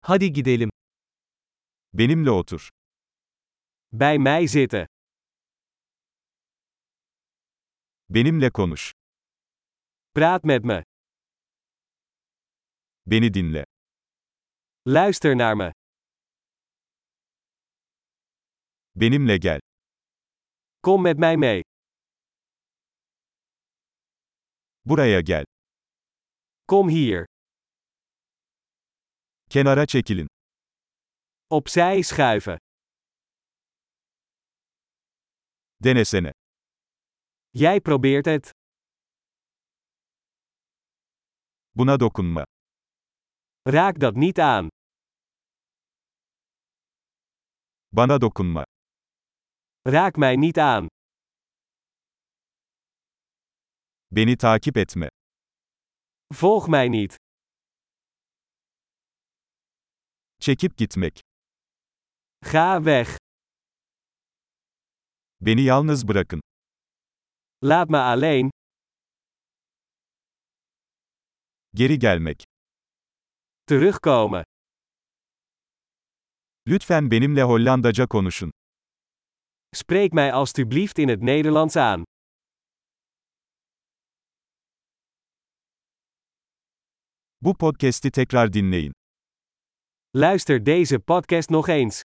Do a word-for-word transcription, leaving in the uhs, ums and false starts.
Hadi gidelim. Benimle otur. Bij mij zitten. Benimle konuş. Praat met me. Beni dinle. Luister naar me. Benimle gel. Kom met mij mee. Buraya gel. Kom hier. Kenara çekilin. Opzij schuiven. Denesene. Jij probeert het. Buna dokunma. Raak dat niet aan. Bana dokunma. Raak mij niet aan. Beni takip etme. Volg mij niet. Çekip gitmek. Ga weg. Beni yalnız bırakın. Laat me alleen. Geri gelmek. Terugkomen. Lütfen benimle Hollandaca konuşun. Spreek mij alstublieft in het Nederlands aan. Bu podcast'i tekrar dinleyin. Luister deze podcast nog eens.